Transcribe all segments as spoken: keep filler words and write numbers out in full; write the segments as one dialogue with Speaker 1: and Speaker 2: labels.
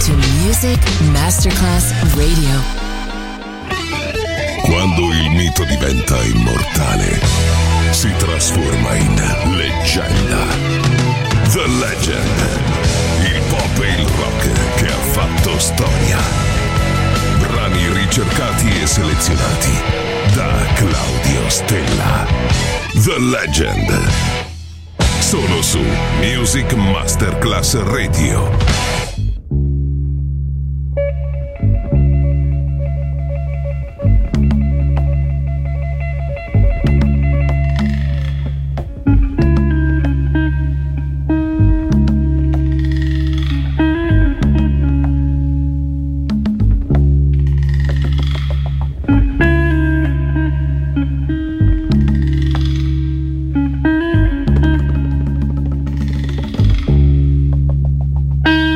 Speaker 1: to Music Masterclass Radio.
Speaker 2: Quando il mito diventa immortale, si trasforma in leggenda. The Legend. Il pop e il rock che ha fatto storia. Brani ricercati e selezionati da Claudio Stella. The Legend. Solo su Music Masterclass Radio.
Speaker 3: Thank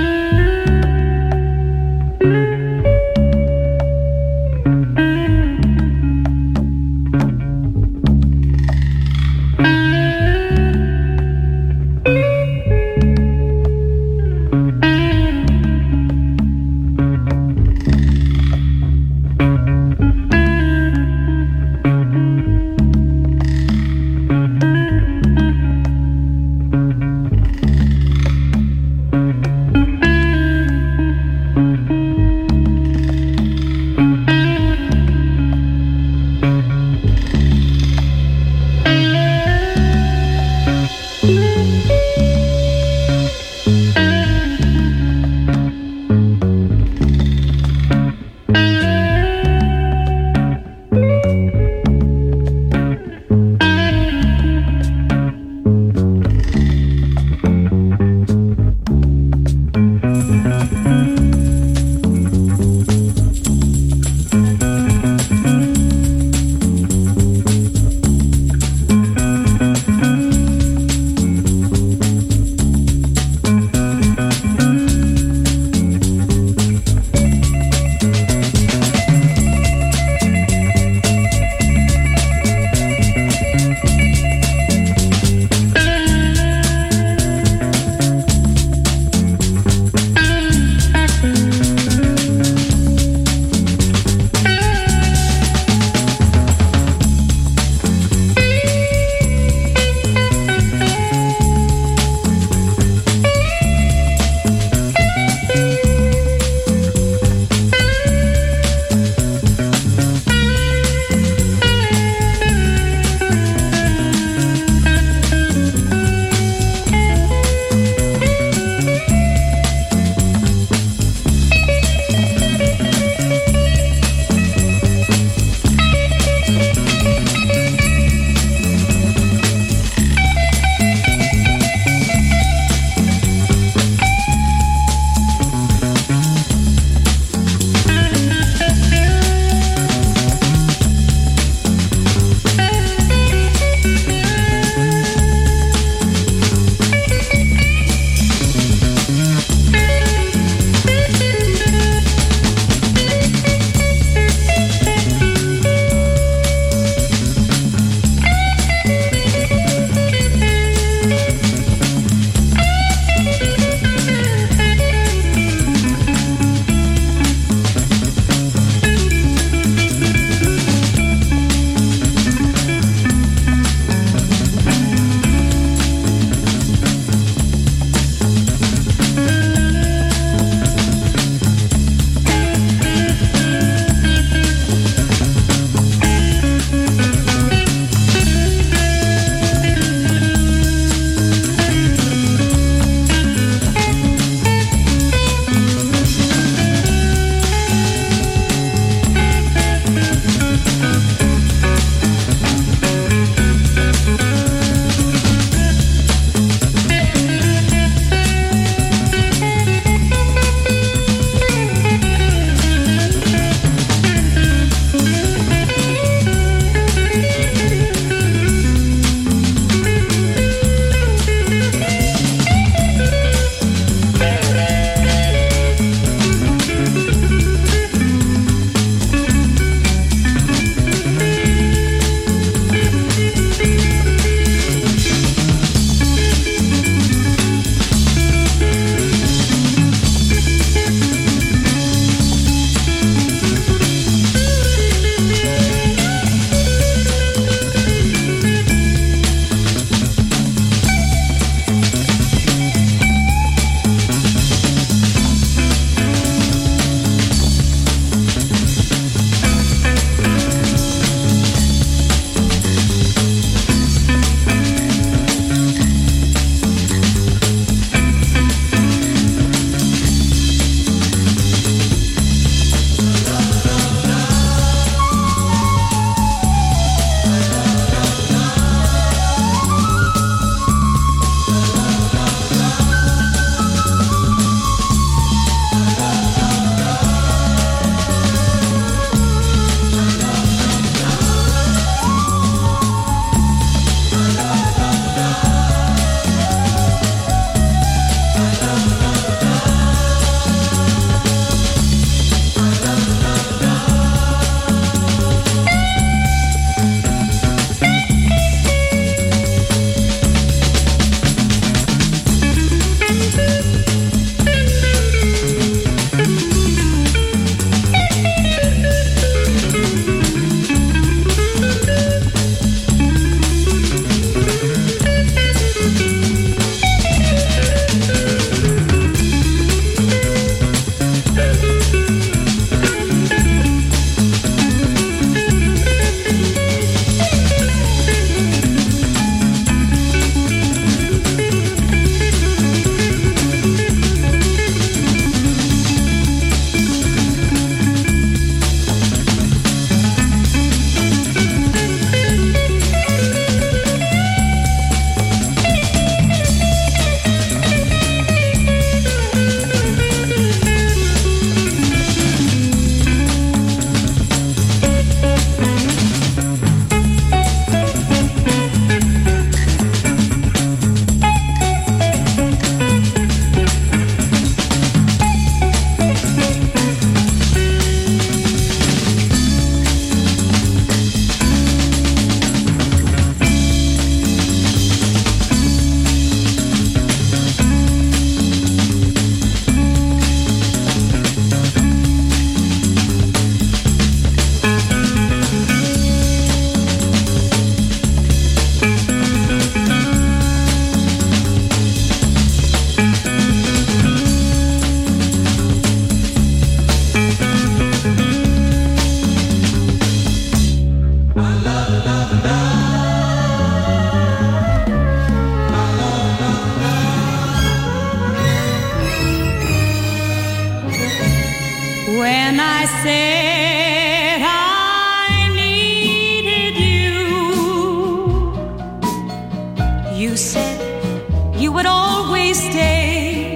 Speaker 3: When I said I needed you, you said you would always stay.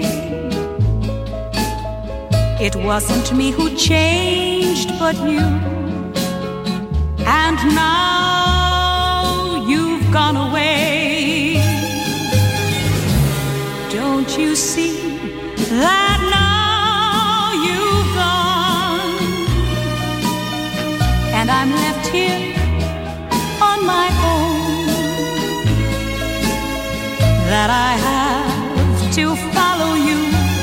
Speaker 3: It wasn't me who changed but you. And now you've gone away. Don't you see that now you've gone, and I'm left here on my own, that I have to follow you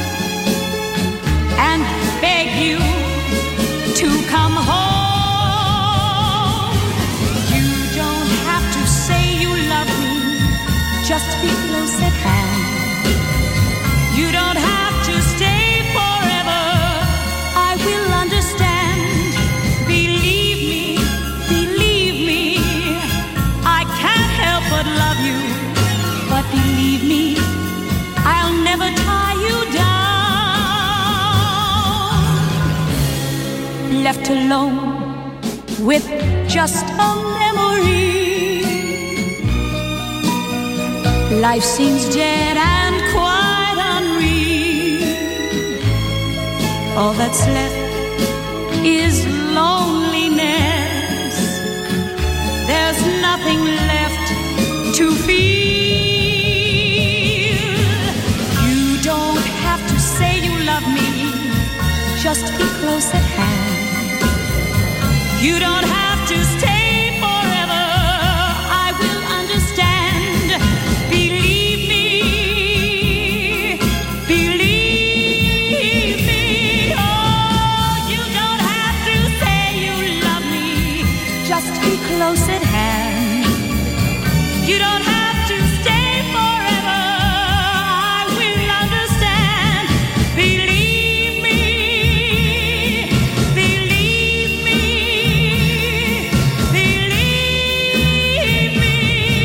Speaker 3: and beg you to come home. You don't have to say you love me, just be close at hand. You don't have to stay forever, I will understand. Believe me, believe me, I can't help but love you. But believe me, I'll never tie you down. Left alone with just a memory, life seems dead and quite unreal. All that's left is loneliness. There's nothing left to feel. You don't have to say you love me, just be close at hand. You don't have to stay forever, I will understand. Believe me, believe me. Oh, you don't have to say you love me, just be close at hand. You don't have to stay forever, I will understand. Believe me, believe me, believe me.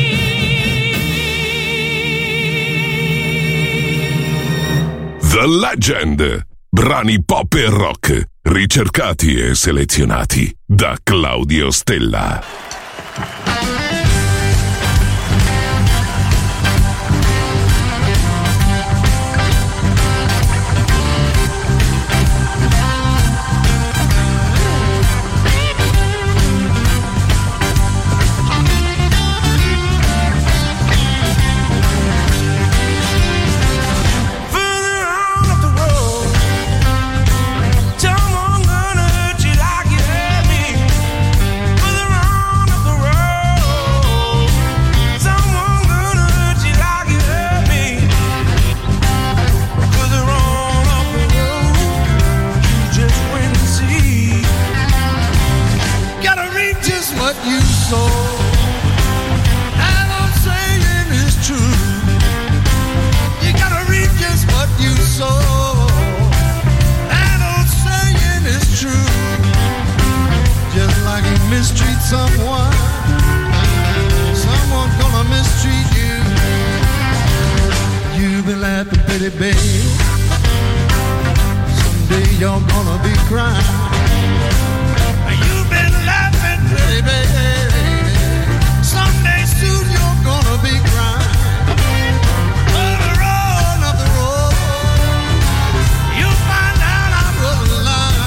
Speaker 2: The Legend. Brani pop e rock, ricercati e selezionati da Claudio Stella.
Speaker 4: Mistreat someone, someone's gonna mistreat you. You've been laughing, pretty babe. Someday you're gonna be crying. You've been laughing, pretty babe. Someday soon you're gonna be crying. On the road, up the road, you'll find out I wasn't lying.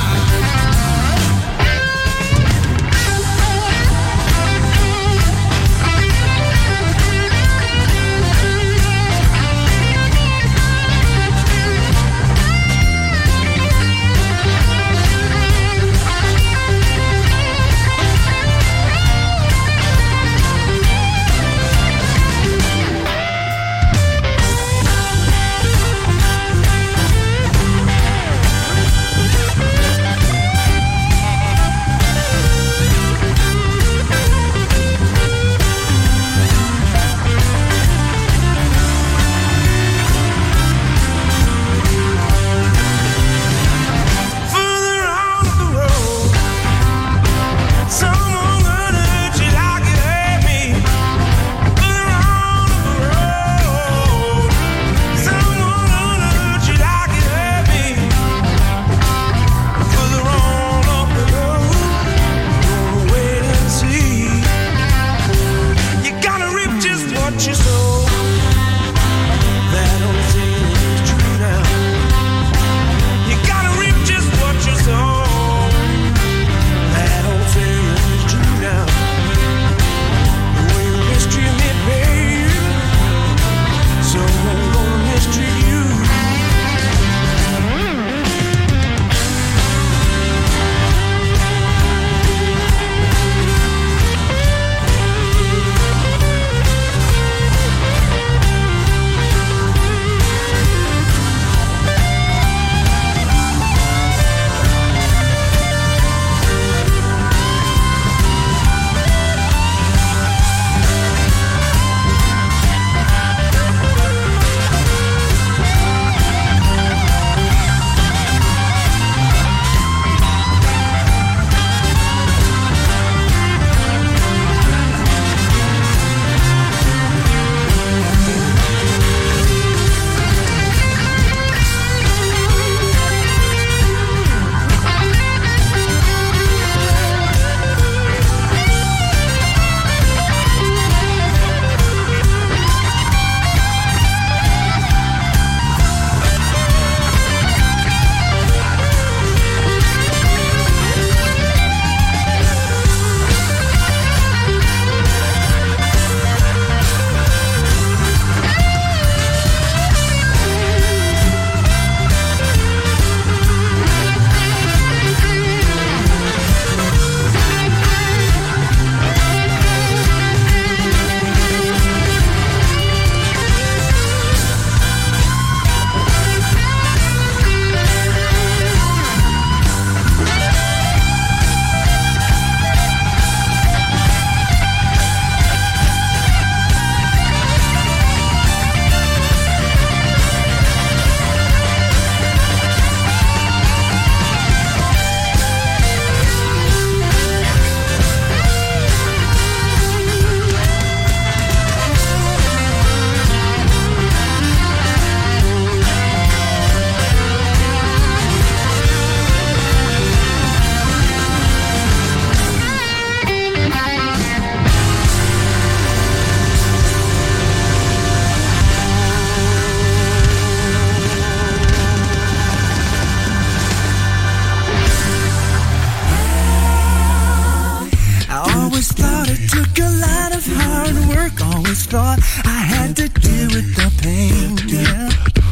Speaker 5: thought I had to deal with the pain, yeah.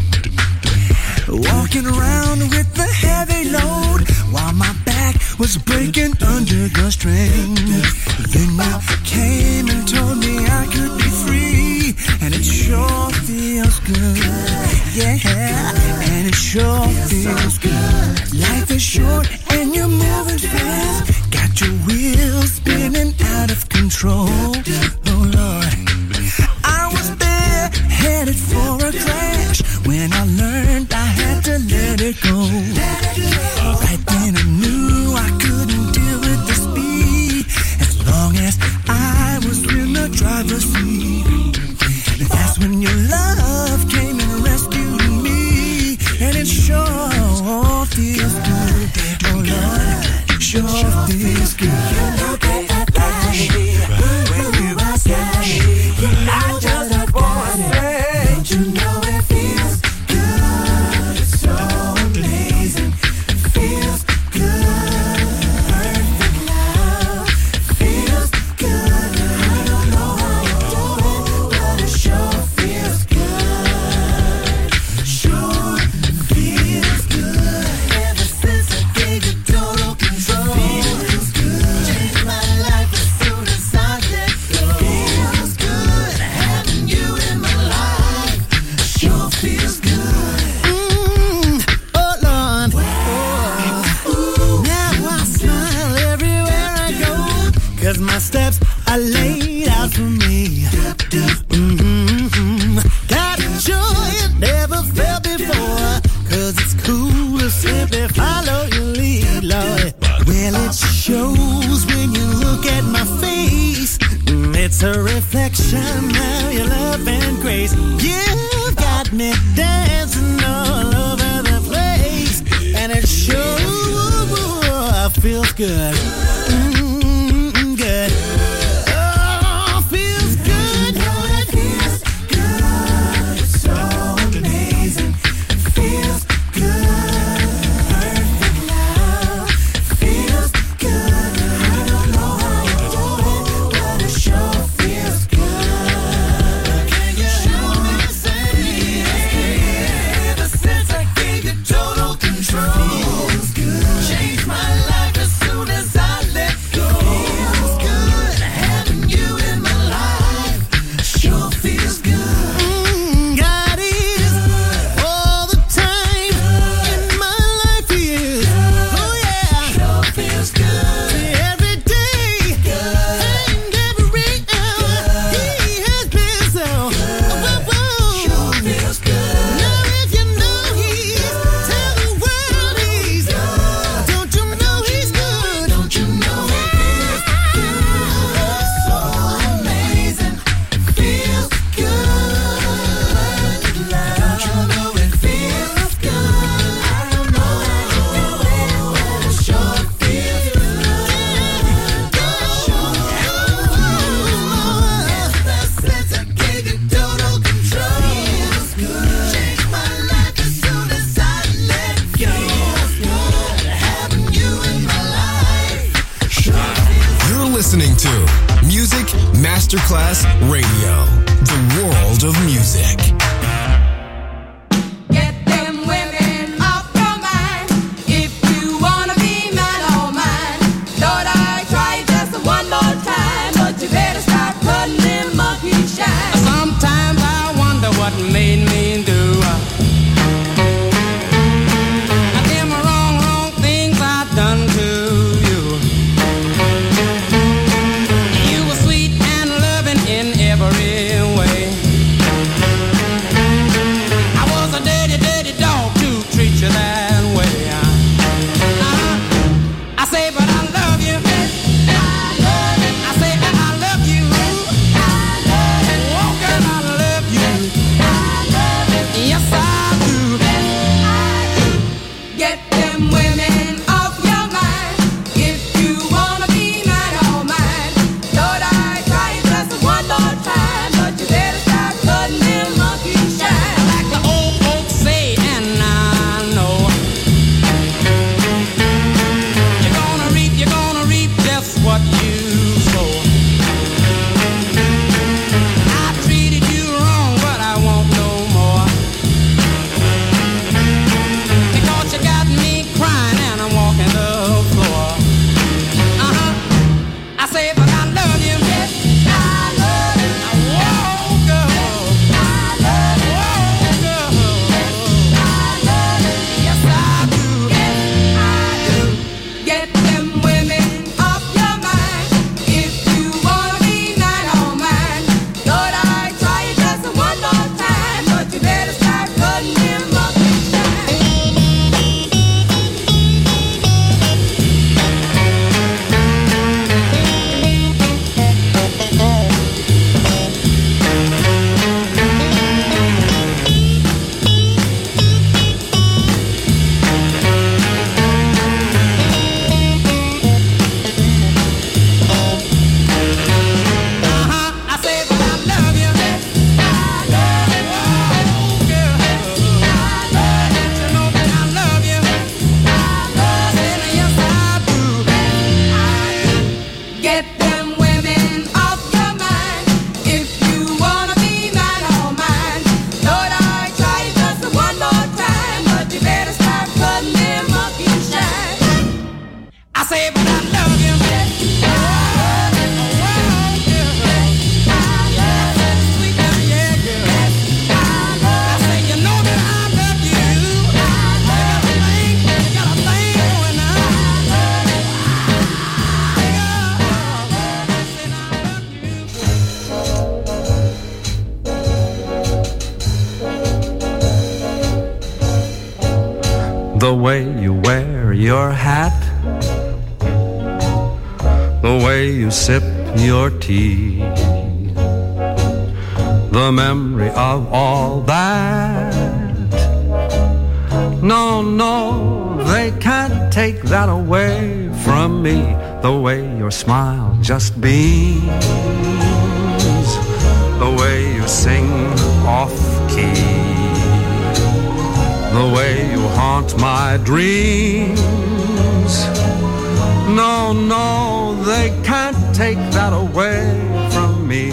Speaker 5: Walking around with the heavy load while my back was breaking under the strain. Then you came and told me I could be free, and it sure feels good, yeah, and it sure feels good. Life is short and you're moving fast, got your wheels spinning out of control. Oh Lord, I was there headed for a crash when I learned I had to let it go. Right then I knew I couldn't deal with the speed as long as I was in the driver's seat. That's when your love came and rescued me, and it sure feels good. Oh Lord, sure feels good. You know that I when you are sad, I just wanna say, don't you know it feels good? It's so amazing. It feels good. Perfect love feels good. I don't know how you do it, but it sure feels good. Sure feels good. Ever since I gave you total control, feels good. Changed my life as soon as I let go. Feels good having you in my life. Sure feels good. Mm, oh Lord, oh. Now I smile everywhere I go, 'cause my steps are laid out for me. Mm-hmm. Got a joy you never felt before, 'cause it's cool to simply follow your lead, Lord. Well, it shows when you look at my face. Mm, It's a reflection of your love and grace. You've got me dancing all over the place, and it sure feels good. Mm, good. Oh, feels good. It feels good. It's so amazing. It feels good. Perfect love feels good. I don't know how you do it, but it sure feels good. Can you show me the same? Ever since I gave you total control, feels good. Changed my life as soon as I let go. Feels good having you in my life. Sure feels good. Mm, God is all the time in my life. He is. Oh yeah. Sure feels good. Every day and every hour, He has been so. Whoa, whoa. Sure feels good. Now if you know He's, tell the world He's. Don't you know He's good? Don't you know He feels good? So amazing. It feels good. Don't you know it feels good? I don't know how you do it, but it sure feels good. Sure. Ever since I gave you total control, feels good. Changed my life as soon as I let go. Feels good having you in my life. Sure feels.
Speaker 6: You're listening to Music Masterclass Radio, the world of music.
Speaker 3: Get them women off your mind. If you wanna be mine, oh mine. Thought I'd try just one more time, but you better start cutting them monkey shine.
Speaker 7: Sometimes I wonder what made me do them wrong, wrong things I've done to you. You were sweet and loving in every way.
Speaker 8: The way you wear your hat, the way you sip your tea, the memory of all that. No, no, they can't take that away from me. The way your smile just beams, the way you sing off-key, the way you haunt my dreams. No, no, they can't take that away from me.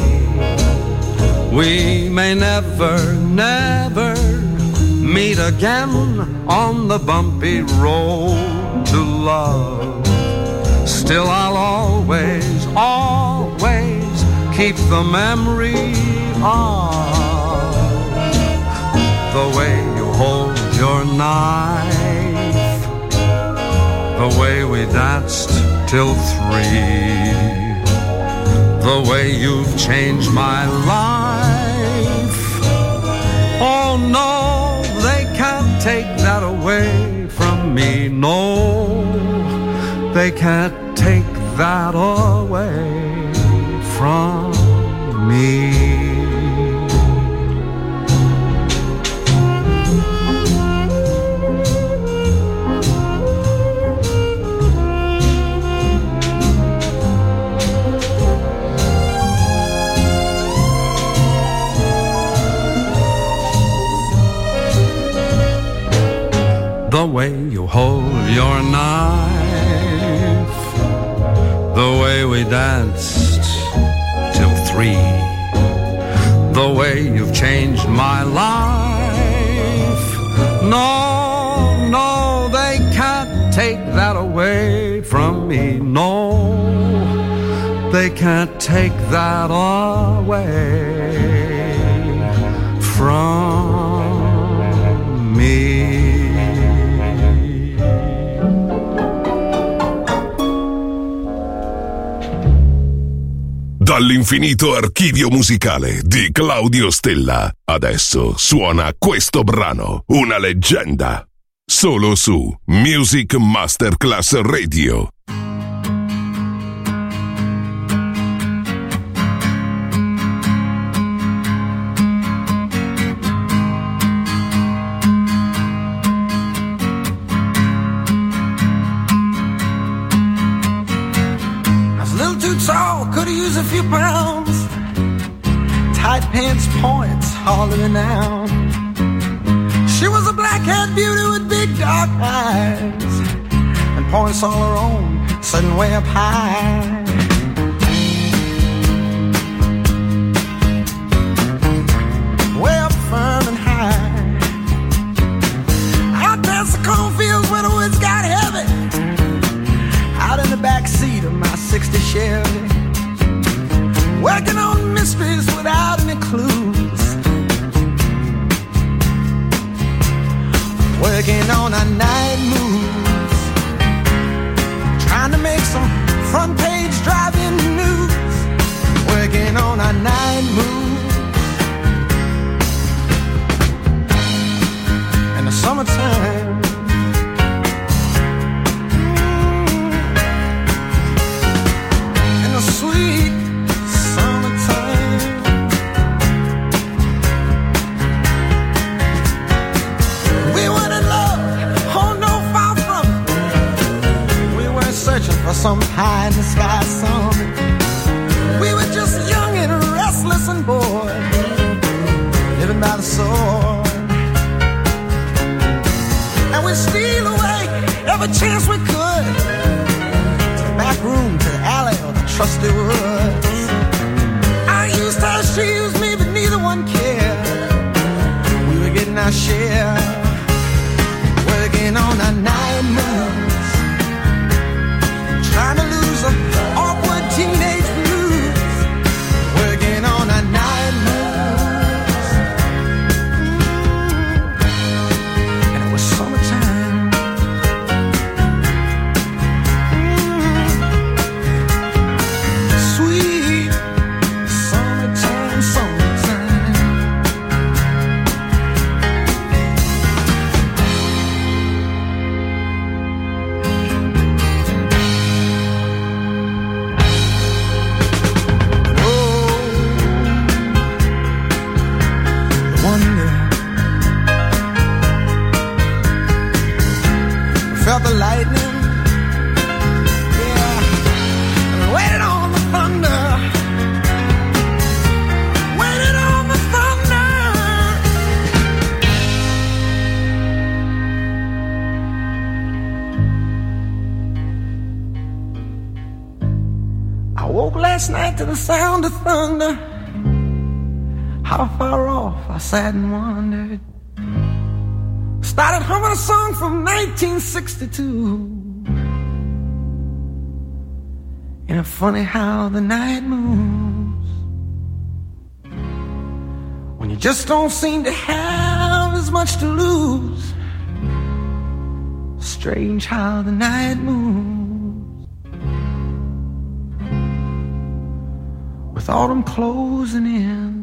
Speaker 8: We may never, never meet again on the bumpy road to love. Still I'll always, always keep the memory of the way you hold your knife, the way we danced till three, the way you've changed my life. Oh no, they can't take that away from me. No, they can't take that away from me. The way you hold your knife, the way we danced till three, the way you've changed my life. No, no, they can't take that away from me. No, they can't take that away from me.
Speaker 2: Dall'infinito archivio musicale di Claudio Stella, adesso suona questo brano, una leggenda, solo su Music Masterclass Radio.
Speaker 5: A few pounds, tight pants points hollering out. She was a black-haired beauty with big dark eyes and points all her own, sitting way up high. Way up firm and high. Out past the cornfields where the woods got heavy. Out in the back seat of my sixty Chevy. Working on mysteries without any clues. Working on our night moves. Trying to make some front page driving news. Working on our night moves. In the summertime. In the sweet for some high in the sky summit. We were just young and restless and bored, living by the sword. And we'd steal away every chance we could, to the back room, to the alley, or the trusty woods. I used her, she used me, but neither one cared. We were getting our share, working on our night moves. Trying to lose an awkward teenage blues. Working on our night moves. Mm-hmm. And it was summertime. Mm-hmm. Sweet summertime, summertime. of the lightning. Yeah, waited on the thunder, waited on the thunder. I woke last night to the sound of thunder. How far off I sat and wondered. Started humming a song from nineteen sixty-two. And it's funny how the night moves when you just don't seem to have as much to lose. Strange how the night moves with autumn closing in.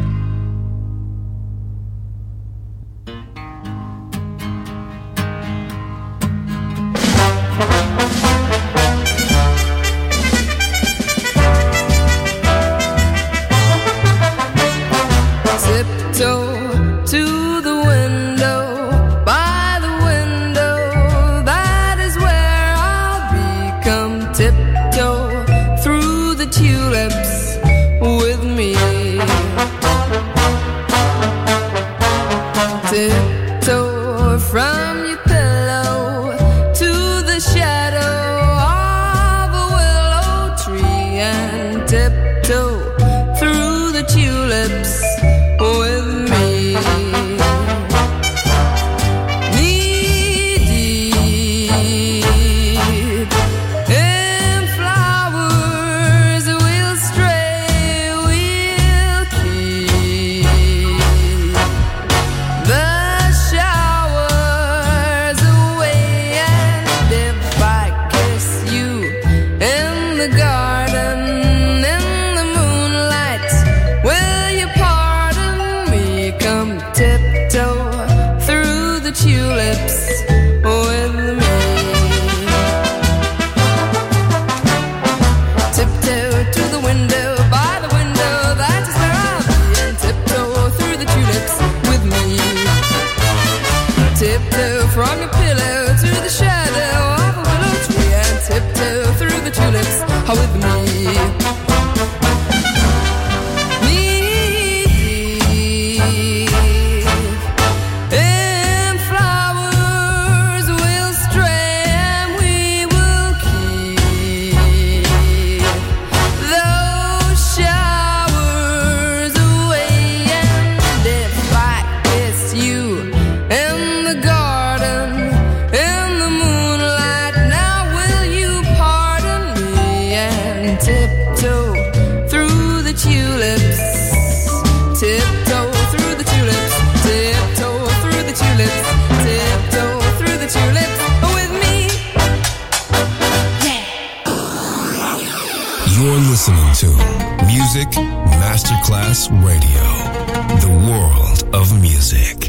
Speaker 6: Masterclass Radio, the world of music.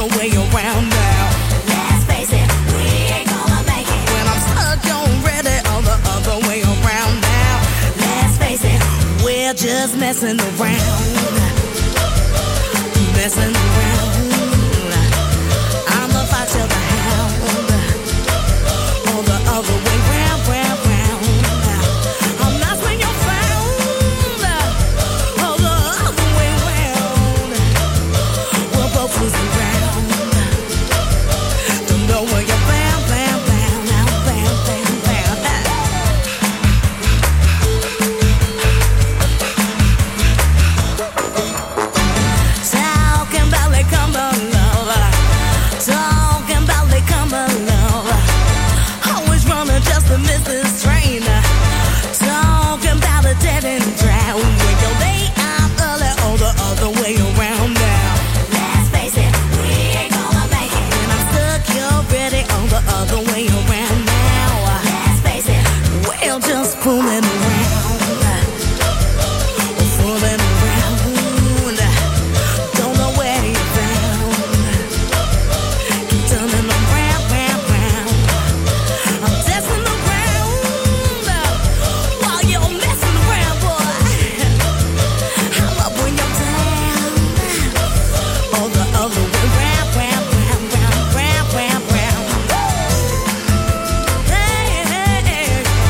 Speaker 5: other way around now. Let's face it, we ain't gonna make it. When I'm stuck, you're ready on the other way around now. Let's face it, we're just messing around. Messing around. I'ma fight till the hound. On the other way round, round, round. I'm not when you're found. On the other way round. We're both losing ground. Don't know where you're bound, bound, bound, bound, bound, bound, bound. Talking about like come on, love. Talking about like come on, love. Always running just to miss this train. Talking about a dead end drown. When you lay out early or the other way around now. Let's face it, we ain't gonna make it. When I'm stuck, you're ready on the other way around now. Let's face it, we're just fooling around. Fooling around. Don't know where you're bound. Keep turning around, round, round. I'm dancing around while you're messing around, boy. I love when you're down. Oh, the other way round, round, round, round, round, round, round. Hey, hey, hey.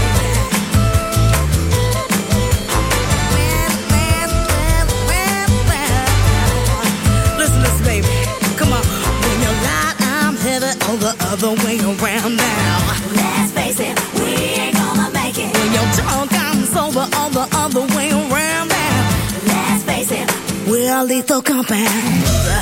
Speaker 5: Listen, listen, baby. Come on. When you're right, I'm headed on the other way around now. Let's face it, we ain't gonna make it. When you're drunk, I'm sober on the other way around now. Let's face it, we're lethal compound.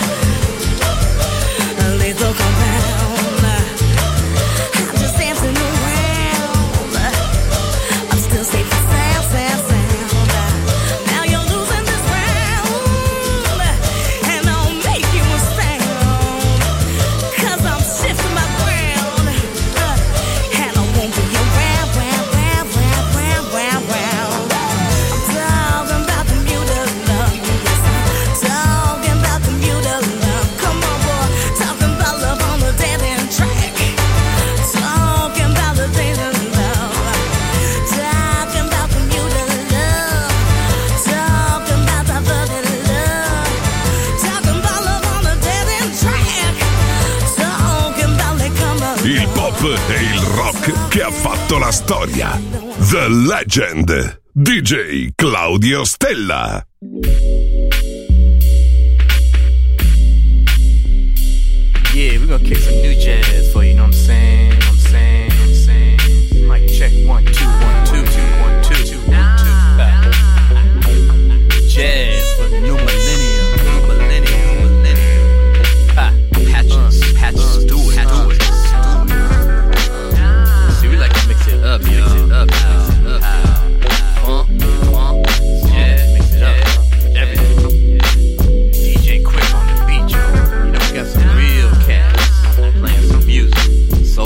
Speaker 5: Lethal compound. I'm just dancing around. I'm still safe and sound, sound, sound. Now you're losing this round, and I'll make you a sound. Cause I'm shifting my ground, and I won't be around, round, round, round, round, round, round. I'm talking about the muted love. Yes, I'm talking about the muted love. Come on, boy. Talking about love on the dead end track. Talking about the dead end love. Talking about the muted love. Talking about the flooded love. Talking about love on the dead end track. Talking about it, come on.
Speaker 2: Il pop e il rock che ha fatto la storia. The Legend. D J Claudio Stella.
Speaker 9: Yeah, we're gonna kick some new jazz for you, you know what I'm saying? You know what I'm saying? You know what I'm saying? Mic check one, two, one, two, two, one, two, two, one, two. Jazz for the new millennium, new millennium, millennium. Ha, patches, patches, do it, do it. See, we like to mix it up, yo. Mix it up, mix it up. Funk, funk, yeah, mix it up. Everything. D J Quick on the beat, yo. You know, we got some real cats playing some music. So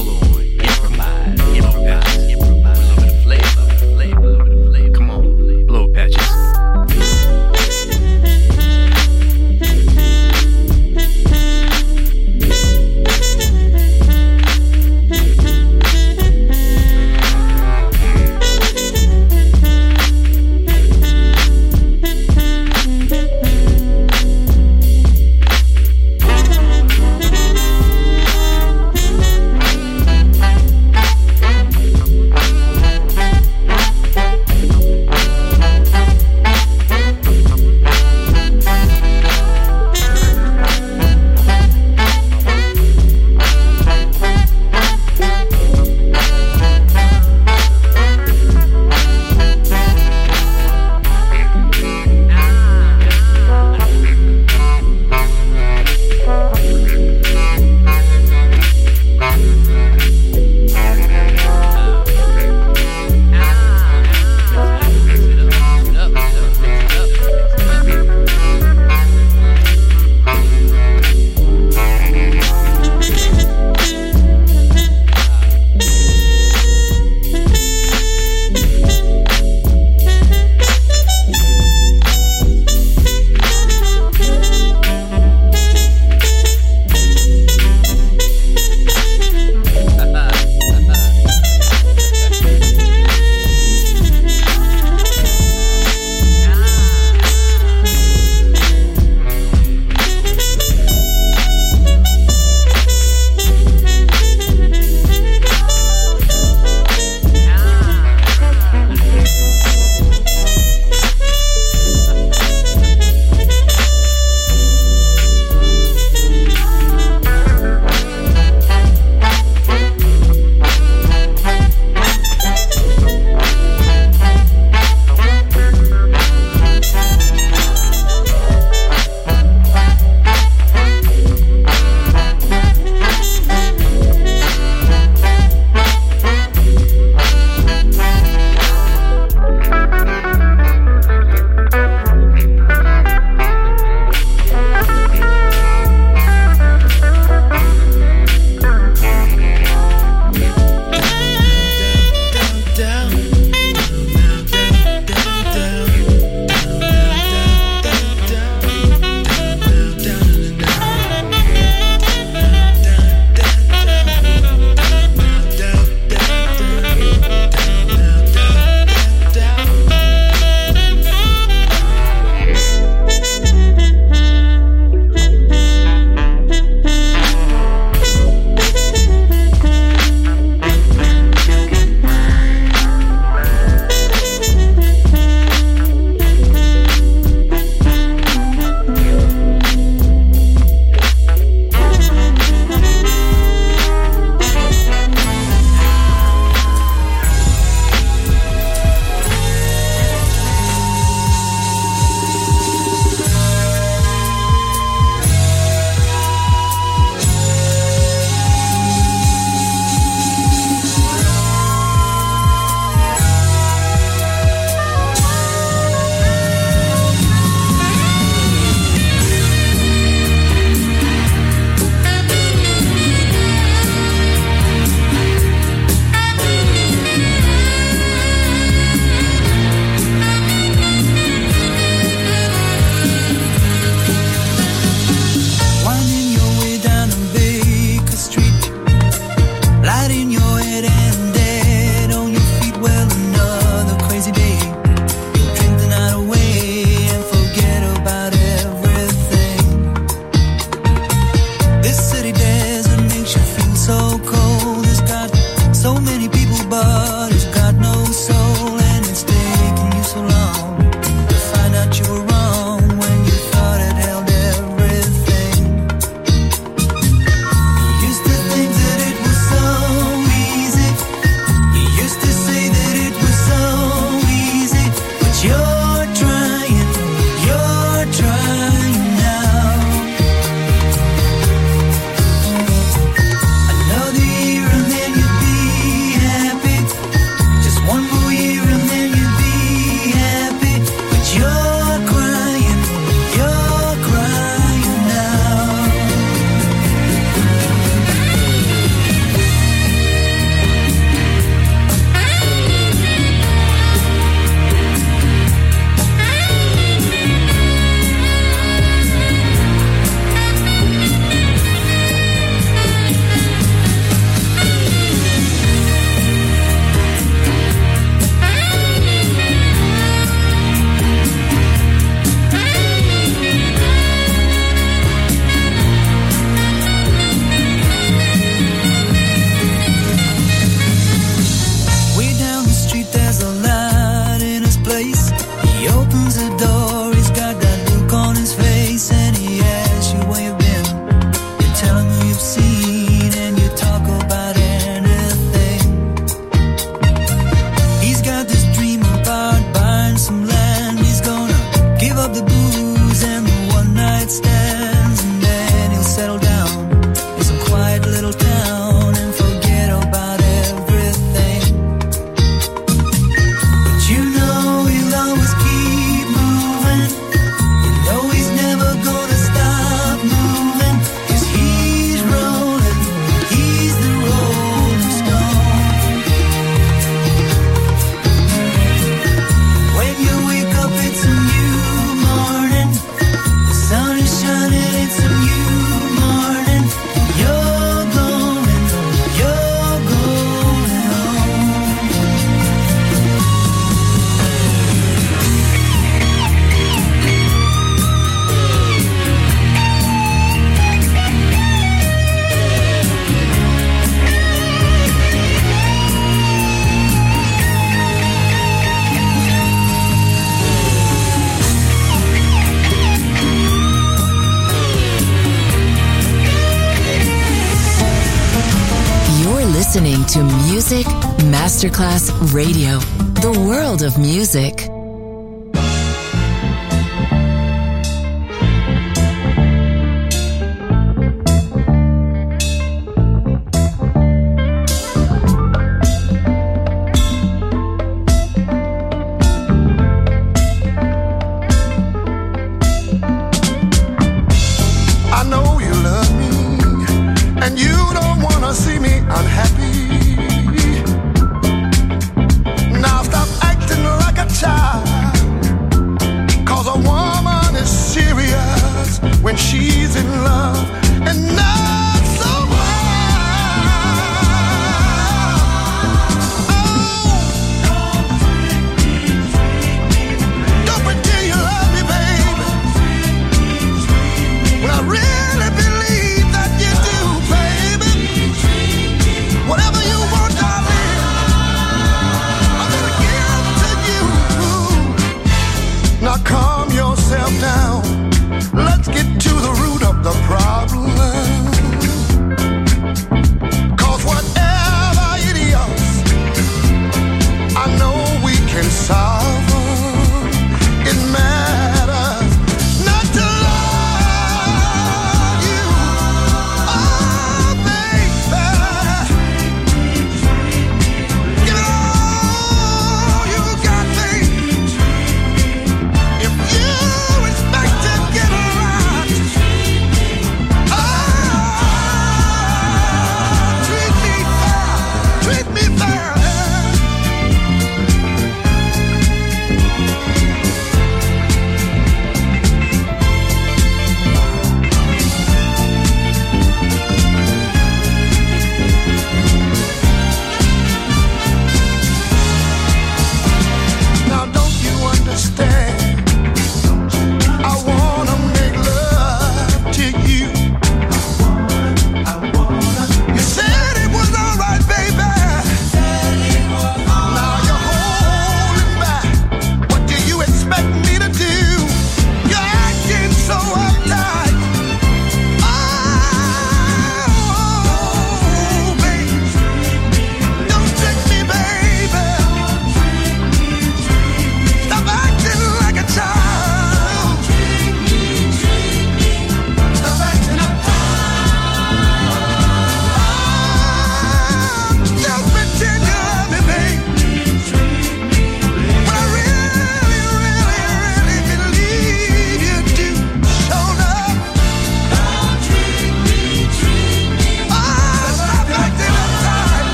Speaker 1: to Music Masterclass Radio, the world of music.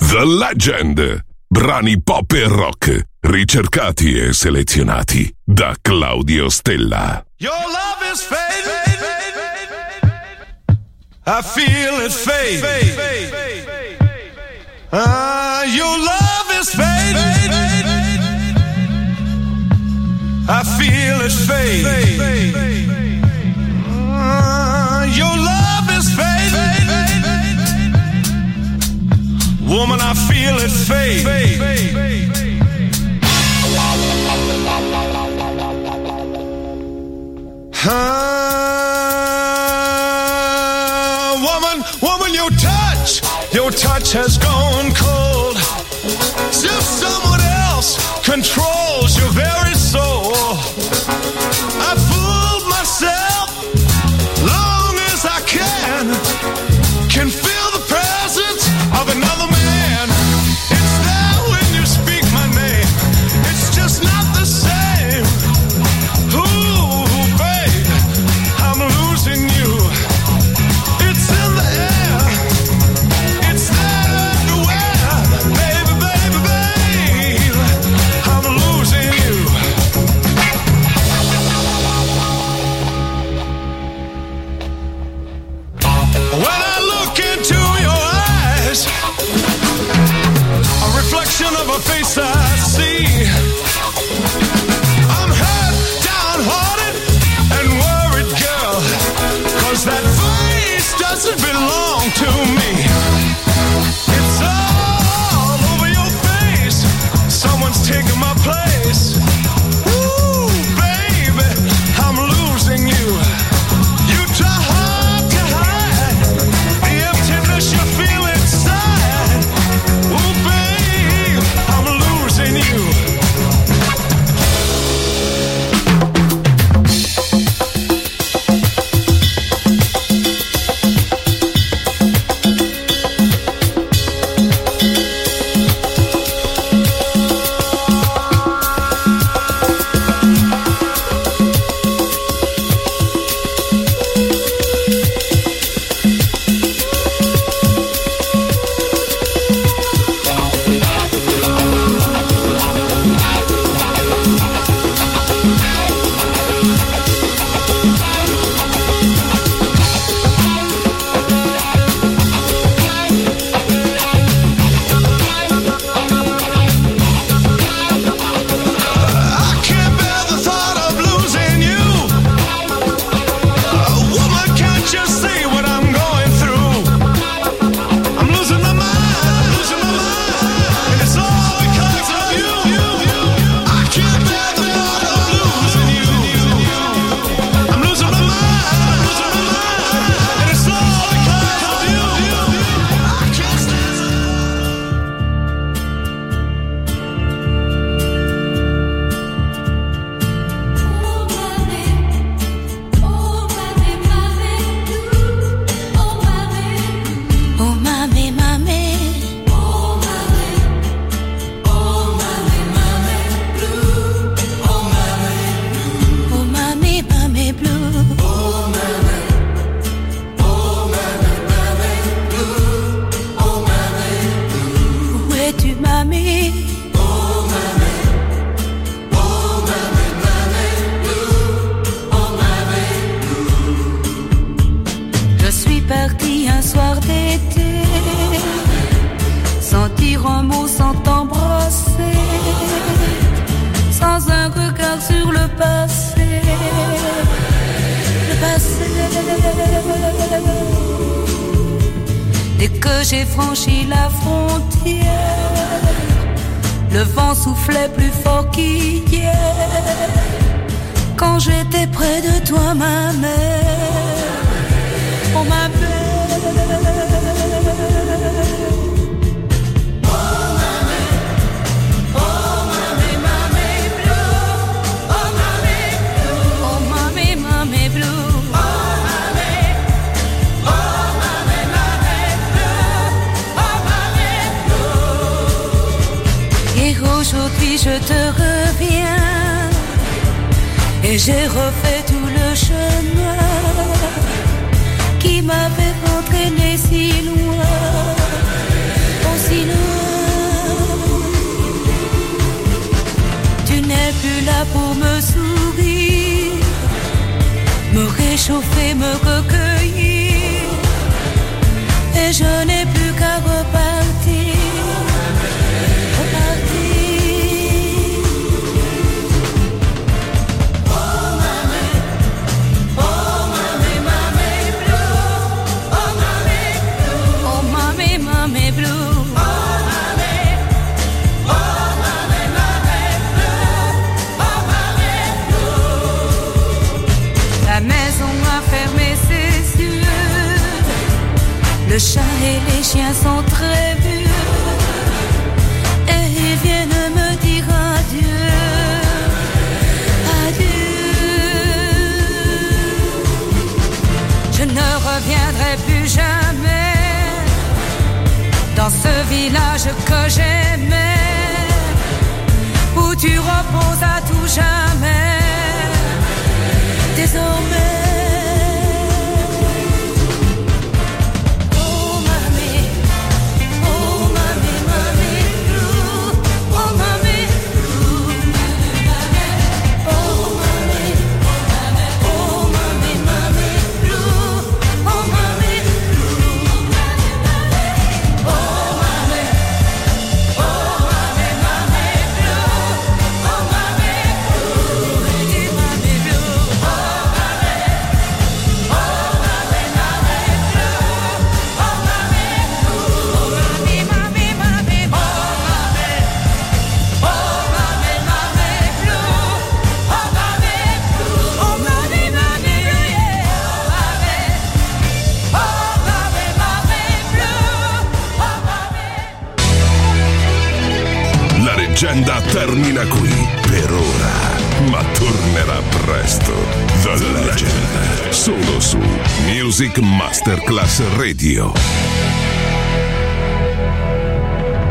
Speaker 2: The Legend. Brani pop e rock, ricercati e selezionati da Claudio Stella.
Speaker 4: Your love is fading. I feel it fade. Ah, your love is fading. I feel it fade. Ah, your love is fading. Woman, I feel it fade. Ah, woman, woman, your touch, your touch has gone cold. As if someone else controls your very soul. I fooled myself long as I can. Can feel the presence of another man. It's there when you speak my name. It's just not the same. Ooh, babe, I'm losing you. It's in the air. It's there everywhere. Baby, baby, babe, I'm losing you. When I look into your eyes, a reflection of a face I see. I'm hurt, downhearted, and worried, girl, 'cause that face doesn't belong to me. It's all over your face. Someone's taking my place. Ooh, baby, I'm losing you. You try hard to hide the emptiness you feel inside. Ooh, babe, I'm losing you.
Speaker 3: Dès que j'ai franchi la frontière, le vent soufflait plus fort qu'hier. Quand j'étais près de toi, ma mère, oh ma mère. Aujourd'hui je te reviens et j'ai refait tout le chemin qui m'avait entraîné si loin, oh si loin. réchauffer, me recueillir, et je n'ai plus qu'à repartir, repartir. Oh mamie, oh mamie, mamie blue, oh mamie blue, oh mamie, mamie blue. Le chat et les chiens sont très vieux et ils viennent me dire adieu, adieu. Je ne reviendrai plus jamais dans ce village que j'aimais, où tu reposes à tout jamais, désormais.
Speaker 2: La leggenda termina qui per ora, ma tornerà presto. The Legend, solo su Music Masterclass Radio.